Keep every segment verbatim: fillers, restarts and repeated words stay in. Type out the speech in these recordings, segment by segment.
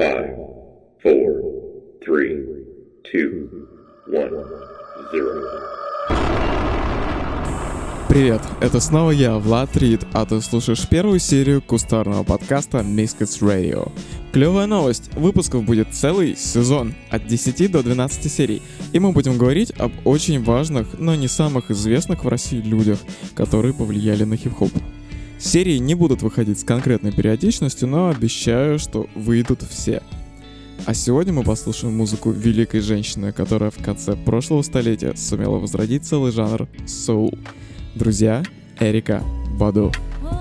five, four, three, two, one, zero. Привет, это снова я, Влад Рид, а ты слушаешь первую серию кустарного подкаста Misfits Radio. Клевая новость, выпусков будет целый сезон, от десяти до двенадцати серий, и мы будем говорить об очень важных, но не самых известных в России людях, которые повлияли на хип-хоп. Серии не будут выходить с конкретной периодичностью, но обещаю, что выйдут все. А сегодня мы послушаем музыку великой женщины, которая в конце прошлого столетия сумела возродить целый жанр соул. Друзья, Эрика Баду.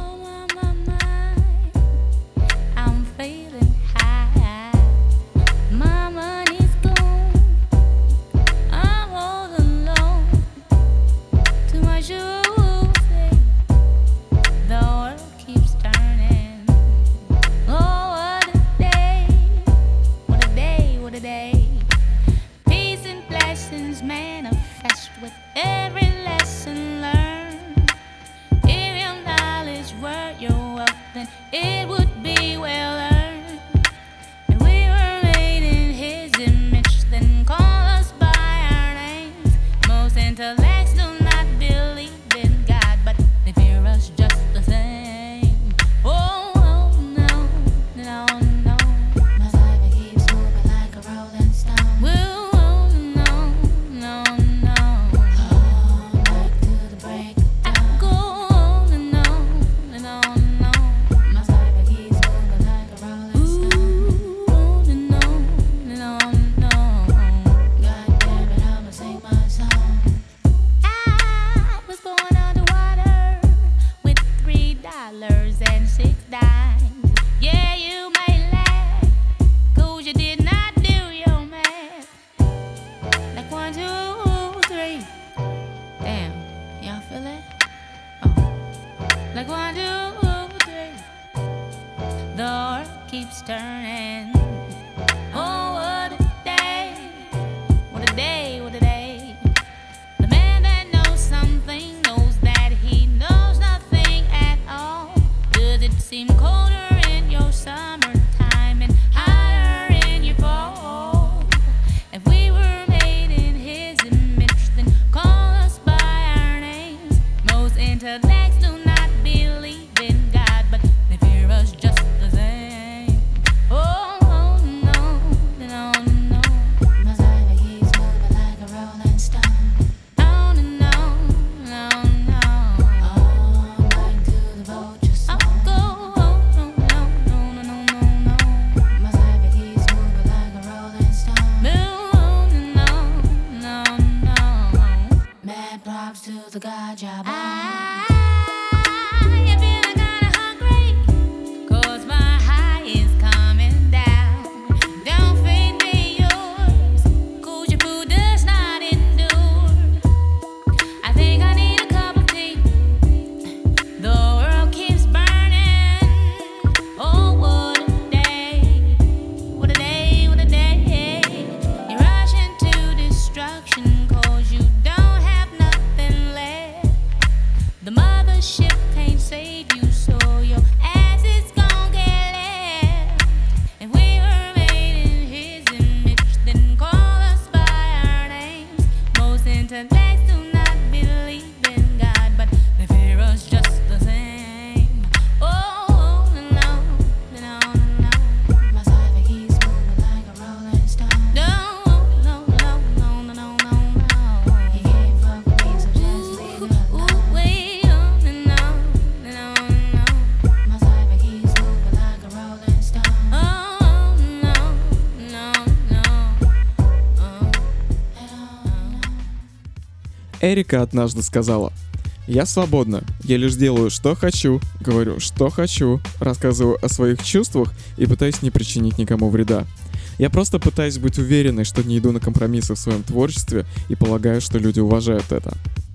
Эрика однажды сказала: «Я свободна, я лишь делаю, что хочу, говорю, что хочу, рассказываю о своих чувствах и пытаюсь не причинить никому вреда. Я просто пытаюсь быть уверенной, что не иду на компромиссы в своем творчестве и полагаю, что люди уважают это».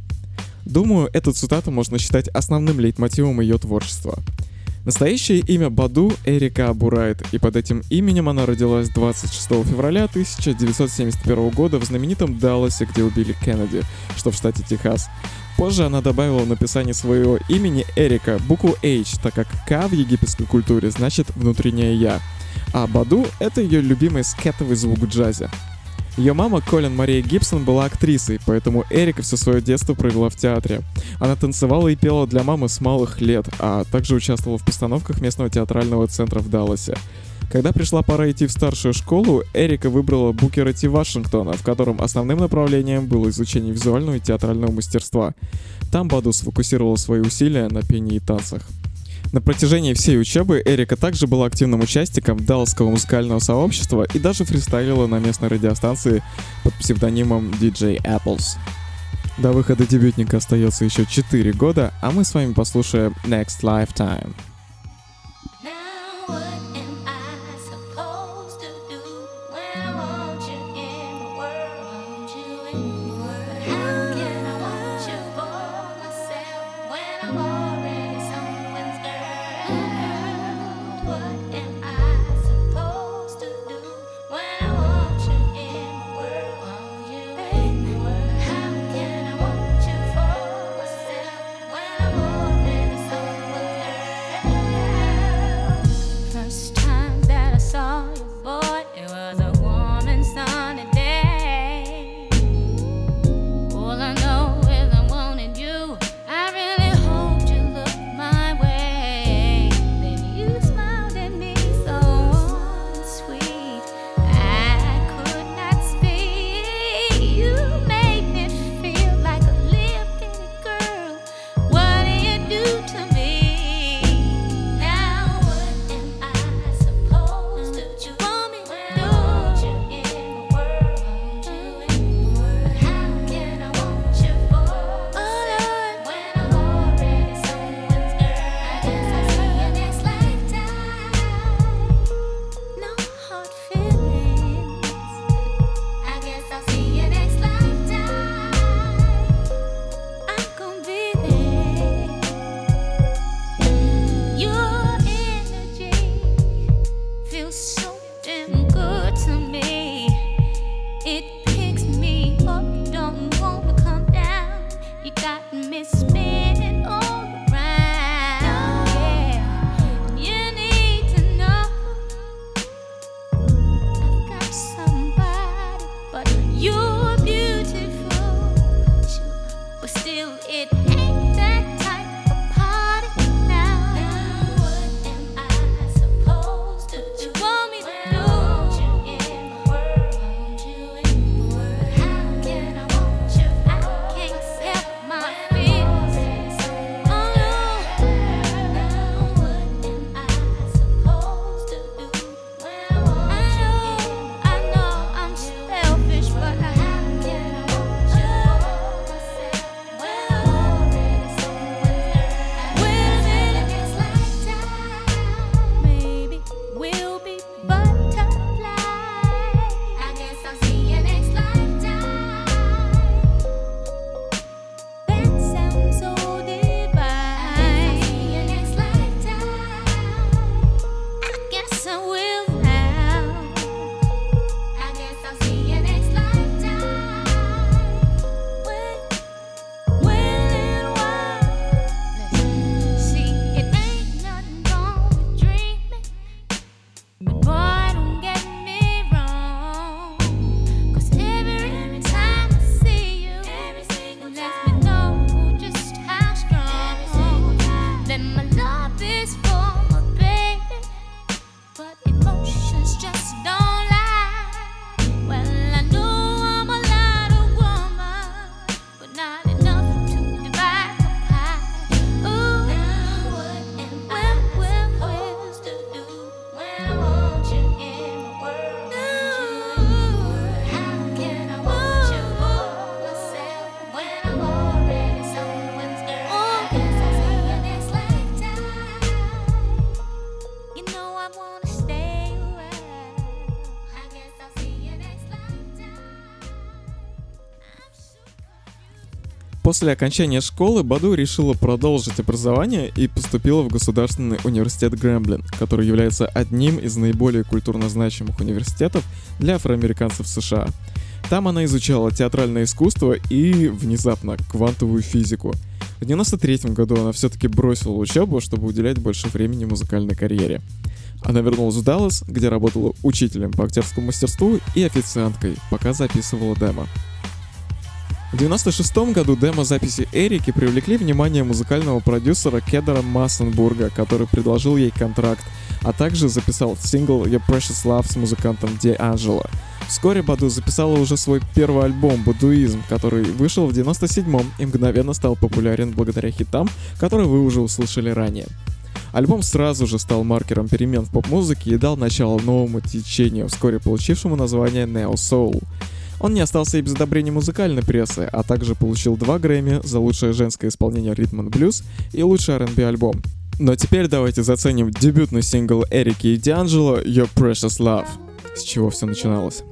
Думаю, эту цитату можно считать основным лейтмотивом ее творчества. Настоящее имя Баду Эрика Абурайт, и под этим именем она родилась двадцать шестого февраля тысяча девятьсот семьдесят первого года в знаменитом Далласе, где убили Кеннеди, что в штате Техас. Позже она добавила в написании своего имени Эрика букву H, так как К в египетской культуре значит «внутреннее я». А Баду — это ее любимый скетовый звук в джазе. Ее мама, Колин Мария Гибсон, была актрисой, поэтому Эрика все свое детство провела в театре. Она танцевала и пела для мамы с малых лет, а также участвовала в постановках местного театрального центра в Далласе. Когда пришла пора идти в старшую школу, Эрика выбрала Букера Ти Вашингтона, в котором основным направлением было изучение визуального и театрального мастерства. Там Баду сфокусировала свои усилия на пении и танцах. На протяжении всей учебы Эрика также была активным участником далласского музыкального сообщества и даже фристайлила на местной радиостанции под псевдонимом ди джей Apples. До выхода дебютника остается еще четыре года, а мы с вами послушаем Next Lifetime. После окончания школы Баду решила продолжить образование и поступила в Государственный университет Гремлин, который является одним из наиболее культурно значимых университетов для афроамериканцев США. Там она изучала театральное искусство и, внезапно, квантовую физику. В девяносто третьем году она все-таки бросила учебу, чтобы уделять больше времени музыкальной карьере. Она вернулась в Даллас, где работала учителем по актерскому мастерству и официанткой, пока записывала демо. В девяносто шестом году демо-записи Эрики привлекли внимание музыкального продюсера Кедера Массенбурга, который предложил ей контракт, а также записал сингл Your Precious Love с музыкантом D'Angelo. Вскоре Баду записала уже свой первый альбом «Будуизм», который вышел в девяносто седьмом и мгновенно стал популярен благодаря хитам, которые вы уже услышали ранее. Альбом сразу же стал маркером перемен в поп-музыке и дал начало новому течению, вскоре получившему название Neo Soul. Он не остался и без одобрения музыкальной прессы, а также получил два Грэмми за лучшее женское исполнение ритм энд блюз и лучший ар энд би альбом. Но теперь давайте заценим дебютный сингл Эрики и D'Angelo Your Precious Love, с чего все начиналось.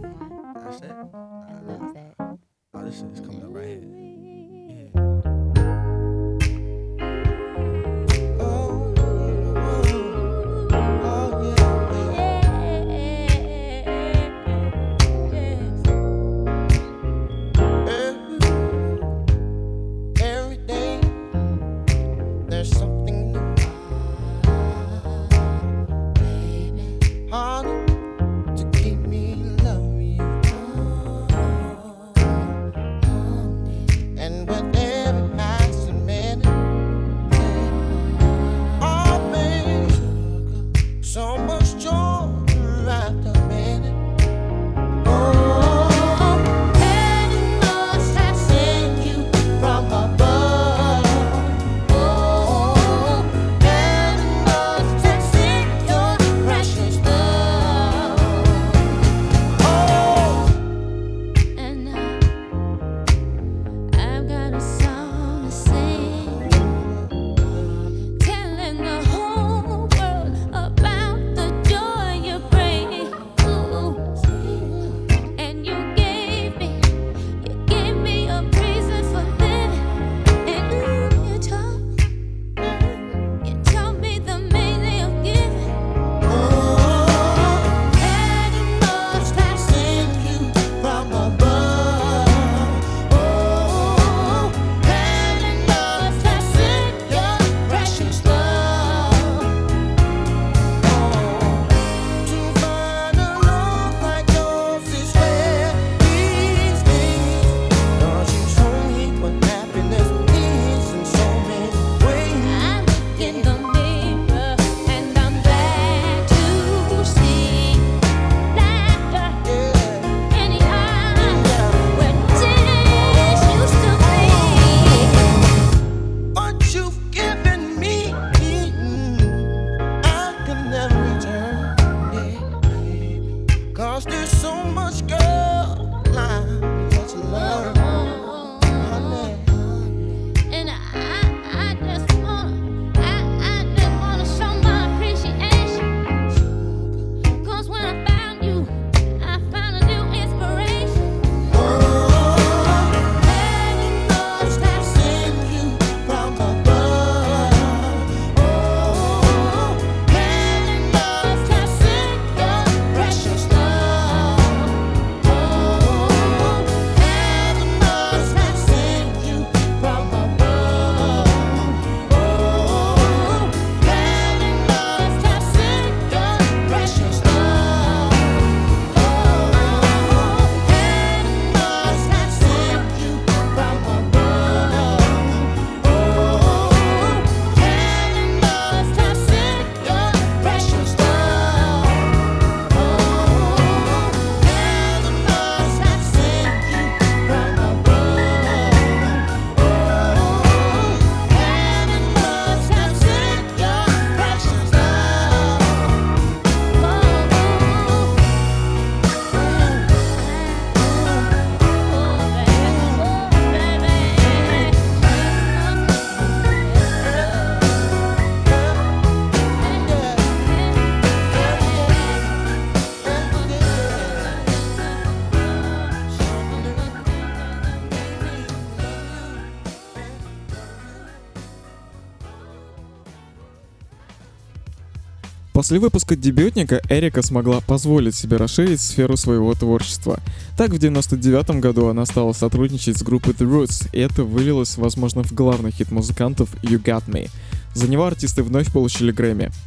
После выпуска дебютника Эрика смогла позволить себе расширить сферу своего творчества. Так, в девяносто девятом году она стала сотрудничать с группой The Roots, и это вылилось, возможно, в главный хит музыкантов You Got Me. За него артисты вновь получили Грэмми.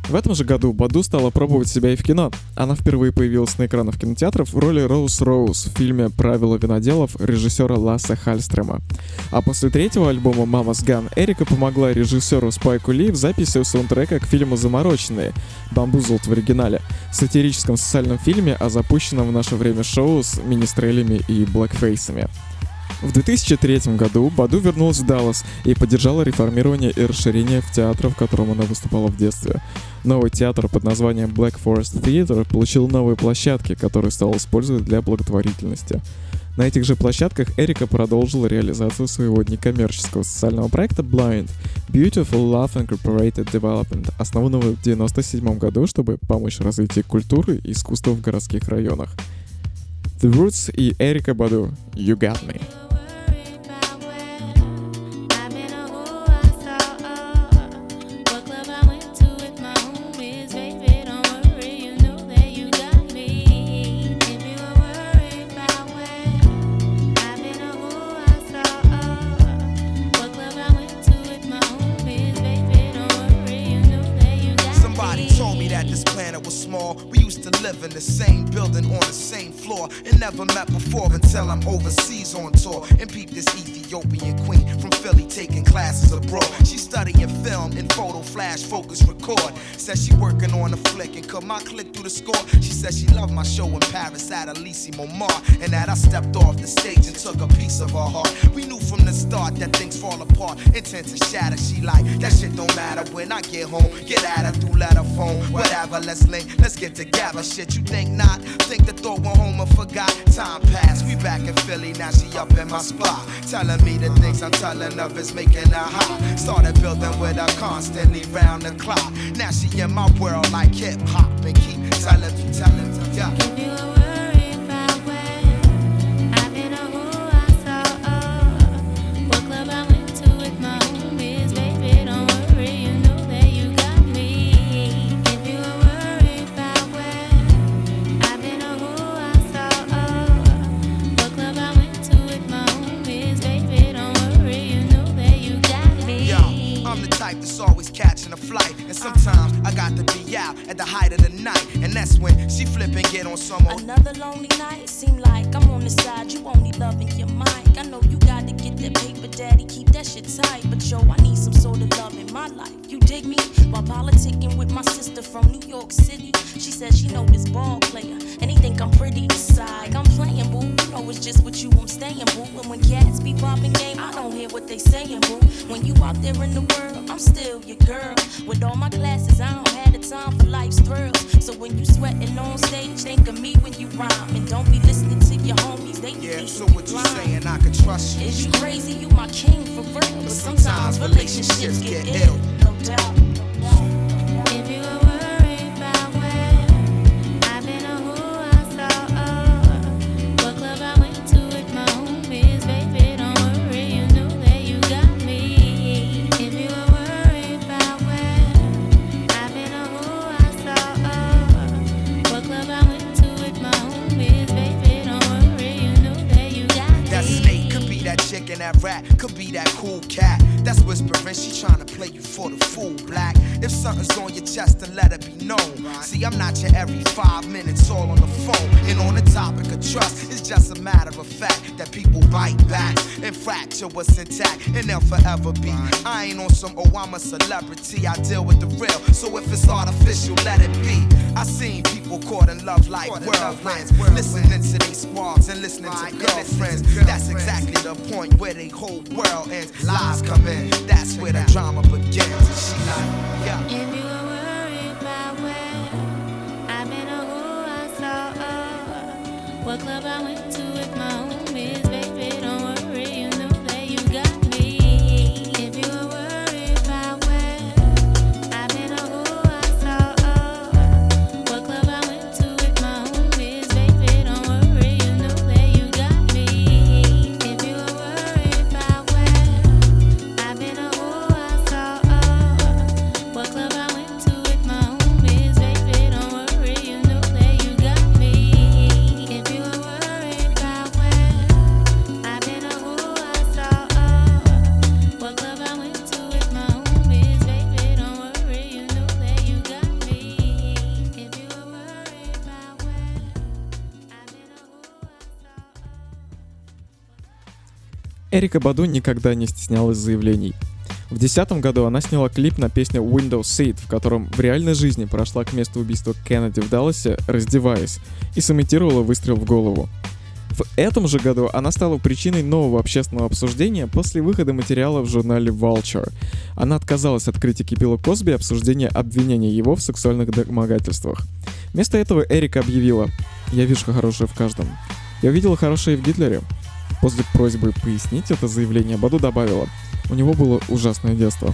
В этом же году Баду стала пробовать себя и в кино. Она впервые появилась на экранах кинотеатров в роли Роуз Роуз в фильме «Правила виноделов» режиссера Лассе Хальстрема. А после третьего альбома «Mama's Gun» Эрика помогла режиссеру Спайку Ли в записи саундтрека к фильму «Замороченные» «Bamboozled» в оригинале, сатирическом социальном фильме о запущенном в наше время шоу с министрелями и блэкфейсами. В две тысячи третьем году Баду вернулась в Даллас и поддержала реформирование и расширение в театр, в котором она выступала в детстве. Новый театр под названием Black Forest Theatre получил новые площадки, которые стал использовать для благотворительности. На этих же площадках Эрика продолжила реализацию своего некоммерческого социального проекта Blind – Beautiful Love Incorporated Development, основанного в девяносто седьмом году, чтобы помочь развитию культуры и искусства в городских районах. The Roots и Эрика Баду «You Got Me». We used to live in the same building on the same floor and never met before until I'm overseas on tour and peep this Ethiopian queen from Philly taking classes abroad. She studying film and photo flash focus record. Says she working on a flick and cut my click through the score. She says she loved my show in Paris at Elysee Montmartre and that I stepped off the stage and took a piece of her heart. We knew from the start that things fall apart, intent to shatter. She like, that shit don't matter when I get home. Get at her through letter phone, whatever, let's link, let's get together. Shit, you think not? Think the thought went home and forgot. Time passed, we back in Philly, now she up in my spot. Telling me the things I'm telling of is making her hot. Started building with her constantly round the clock. Now she in my world like hip hop and keep telling me, telling me, yeah. If you were worried about where I've been or who I saw, oh, what club I went to with my homies, baby, don't worry, you know that you got me. If you were worried about where I've been or who I saw, oh, what club I went to with my homies, baby, don't worry, you know that you got me. Yo, I'm the type that's always catching a flight, and sometimes I got to be out at the height of the night, and that's when she flip and get on some old. Another lonely night, seem like I'm on the side, you only loving your mic. I know you gotta get that paper, daddy, keep that shit tight, but yo, I need some sort of love in my life. You dig me? While politicking with my sister from New York City, she said she know this ball player, and he think I'm pretty beside. I'm playing, boo, you know it's just with you I'm staying, boo. And when cats be popping game, I don't hear what they saying, boo. When you out there in the world, I'm still your girl. With all my classes, I don't have the time for life's thrills. So when you sweating on stage, think of me when you rhyme, and don't be listening to your homies. They Yeah, think so you what you blind. saying? I can trust you. Is you crazy? You my king for real. But sometimes relationships get ill, no doubt. If you were worried about where I've been or who I saw, oh, what club I went to with my homies, baby, don't worry, you know that you got me. If you were worried about where I've been or who I saw, oh, what club I went to with my homies, baby, don't worry, you know that you got me. That snake could be that chick and that rat, could be that cool cat. That's whispering, she tryna play you for the fool, black. If something's on your chest, then let it be known. See, I'm not your every five minutes all on the phone. And on the topic of trust, it's just a matter of fact that people bite back and fracture what's intact, and they'll forever be. I ain't on some, oh, I'm a celebrity, I deal with the real. So if it's artificial, let it be. I seen people caught in love like whirlwinds, listening to these squads and listening to girlfriends. That's exactly the point where they whole world ends. Lies come in, that's where the drama begins. And she like, yeah. If you were worried about where I've been or who I saw, oh, what club I went to with my homies, baby, don't worry, you know that you got me. If you were worried about where I've been or who I saw, oh, what club I went to with my homies, baby, don't worry, you know that you got me. If you were worried about where I've been or who I saw, oh, what club I went to with my homies, baby, don't worry, you know that you got me. If you were worried about where Эрика Баду никогда не стеснялась заявлений. В две тысячи десятом году она сняла клип на песню Window Seat, в котором в реальной жизни прошла к месту убийства Кеннеди в Далласе, раздеваясь, и сымитировала выстрел в голову. В этом же году она стала причиной нового общественного обсуждения после выхода материала в журнале Vulture. Она отказалась от критики Билла Косби и обсуждения обвинения его в сексуальных домогательствах. Вместо этого Эрика объявила: «Я вижу хорошее в каждом. Я увидела хорошее в Гитлере». После просьбы пояснить это заявление Баду добавила: «У него было ужасное детство.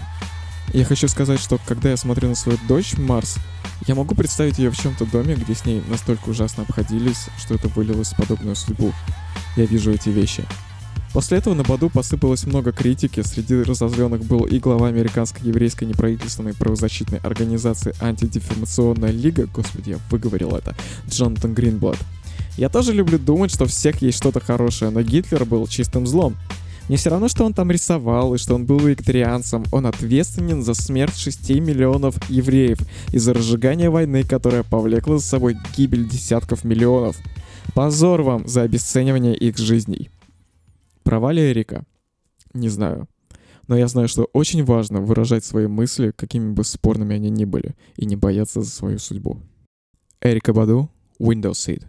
Я хочу сказать, что когда я смотрю на свою дочь Марс, я могу представить ее в чем-то доме, где с ней настолько ужасно обходились, что это вылилось в подобную судьбу. Я вижу эти вещи». После этого на Баду посыпалось много критики. Среди разозленных был и глава американской еврейской неправительственной правозащитной организации «Антидефамационная лига», господи, я выговорил это, Джонатан Гринблад. «Я тоже люблю думать, что у всех есть что-то хорошее, но Гитлер был чистым злом. Мне все равно, что он там рисовал и что он был вегетарианцем. Он ответственен за смерть шести миллионов евреев и за разжигание войны, которая повлекла за собой гибель десятков миллионов. Позор вам за обесценивание их жизней». Права ли Эрика? Не знаю. Но я знаю, что очень важно выражать свои мысли, какими бы спорными они ни были, и не бояться за свою судьбу. Эрика Баду, Window Seat.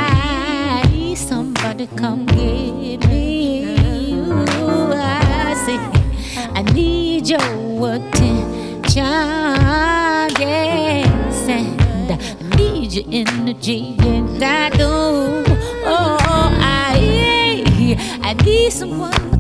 Come get me. Ooh, I see your attention, yes, and I need your energy, and I do. Oh, I, I need someone.